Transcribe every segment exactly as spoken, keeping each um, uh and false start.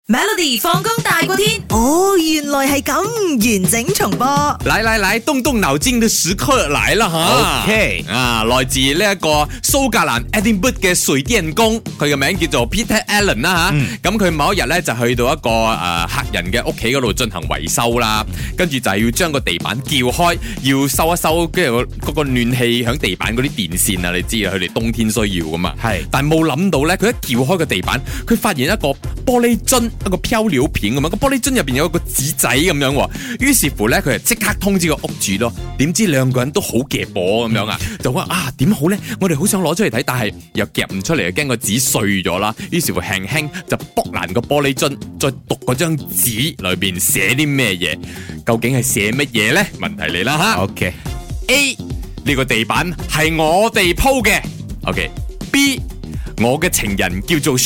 Melody 放工大過天， 哦，原來係咁，完整重播。 來來來，動動腦筋的時刻來了哈 OK 啊，來自呢一個蘇格蘭 Edinburgh 嘅水電工，佢嘅名叫做 Peter Allen 啦吓。咁佢某一日咧就去到一個誒、呃、客人嘅屋企嗰度進行維修啦，跟住就係要將個地板撬開，要收一收，跟住嗰個暖氣響地板嗰啲電線啊，你知啊，佢哋冬天需要噶嘛。係，但係冇諗到咧，佢一撬開個地板，佢發現一個玻璃樽。一個漂料片咁樣，個玻璃樽入邊有一個紙仔咁樣，於是乎咧，佢就即刻通知個屋主咯。點知兩個人都好夾火咁樣啊，就話啊點好咧？我哋好想攞出嚟睇，但係又夾唔出嚟，又驚個紙碎咗啦。於是乎輕輕就剝爛個玻璃樽，再讀嗰張紙裏邊寫啲咩嘢？究竟係寫乜嘢咧？問題嚟啦吓。 OK A 呢個地板係我哋鋪嘅。OK B 我嘅情人叫做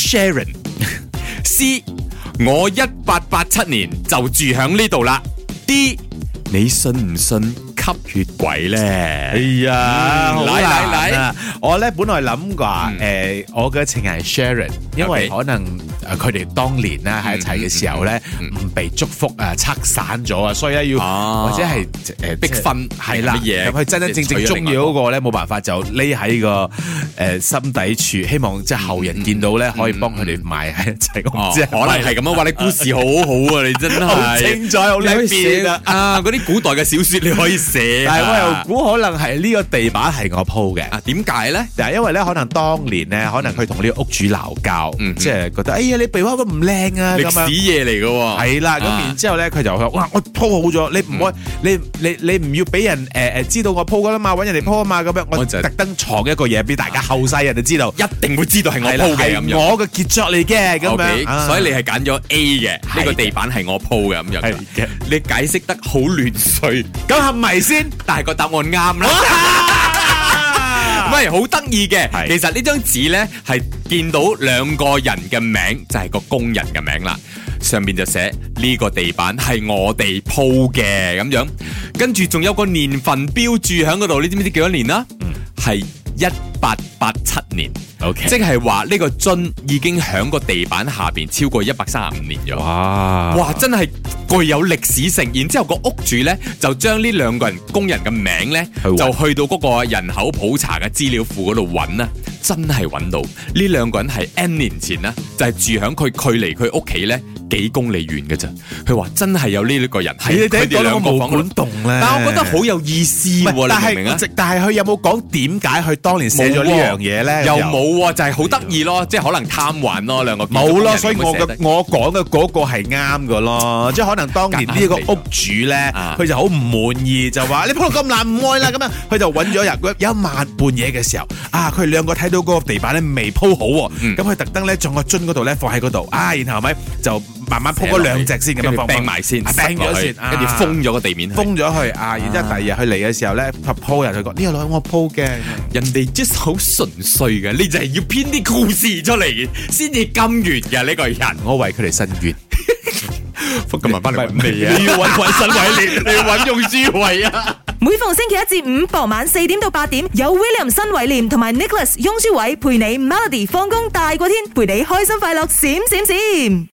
Sharon。C 我一八八七年就住響呢度啦。D 你信唔信吸血鬼咧？ 哎呀，好嚟嚟難啊！我咧本來諗話嗯誒，我嘅情人係 Sharon，因為 Okay 可能誒佢哋當年咧喺一齊嘅時候咧唔被祝福啊，拆散咗啊，所以咧要啊或者係誒逼婚係啦， 乜嘢咁佢真真正正中意嗰個咧冇辦法就匿喺個誒心底處，希望即係後人見到咧可以幫佢哋埋喺一齊。我唔知可能係咁樣。話你故事好好啊，你真係好精彩，好叻變啊！ 啊！嗰啲古代嘅小說你可以寫， 但係我又估可能係呢個地板係我鋪嘅。 啊，點解咧？ 嗱，因為咧可能當年咧，可能佢同呢個屋主鬧交， 嗯即係覺得哎呀你鼻花咁唔靚啊咁樣。 歷史嘢嚟嘅喎， 係啦，咁然之後咧，佢就話：哇，我鋪好咗，你唔可以，你你你唔要俾人誒誒知道我鋪噶啦嘛，揾人哋鋪啊嘛，咁樣我我就特登藏一個嘢俾大家後世人就知道， 一定會知道係我係啦鋪嘅咁樣。 係我嘅傑作嚟嘅咁 OK， 樣啊， 所以你係揀咗 A 嘅，呢個係嘅地板係我鋪嘅咁樣係嘅。 你解釋得好亂碎， 咁係咪先？ 但係個答案啱啦。唔係好得意嘅， 係其實呢張紙呢係見到兩個人嘅名，就係個工人嘅名啦。上面就寫呢個地板係我哋鋪嘅咁樣，跟住仲有個年份標注喺嗰度，你知唔知幾多年啦？係一八八七年。 OK 即係話呢個樽已經響個地板下邊超過一百三十五年咗。 哇哇，真係具有歷史性。然之後個屋主呢，就將呢兩個人工人嘅名呢， 去搵就去到嗰個人口普查嘅資料庫嗰度揾啦，真係揾到呢兩個人係 N 年前呢，就係、住響佢距離佢屋企呢幾公里遠嘅咋。佢話真係有呢一個人係佢哋兩個房管動咧， 但我覺得好有意思喎， 但你明唔明啊？ 係但係佢有冇講點解佢當年寫咗呢樣嘢咧？ 又冇喎，就係好得意咯，即係可能貪玩咯，兩個冇咯，所以我嘅嘅我講嘅嗰個係啱嘅咯，即係可能當年呢個屋主咧，佢就好唔滿意，就話你鋪到咁爛唔愛啦咁樣，佢就揾咗人，有一晚半夜嘅時候，啊，佢哋兩個睇到嗰個地板咧未鋪好喎，咁佢特登咧將個樽嗰度咧放喺嗰度，啊，然後咪就慢慢鋪嗰兩隻先咁樣放， 掟埋先， 掟咗先， 跟住封咗個地面， 封咗佢啊，然之後第二日佢嚟嘅時候咧，鋪人佢講呢個攞我鋪嘅， 人哋 just 好純粹嘅，你就係要編啲故事出嚟先至甘願嘅呢個人， 我為佢哋伸冤。 福今日翻嚟未啊？ 你要揾揾新偉廉， 你要揾用書偉啊！ 每逢星期一至五傍晚四點到八點，有 William 新偉廉同埋 Nicholas 雍舒偉陪你 Melody 放工大過天，陪你開心快樂閃閃閃。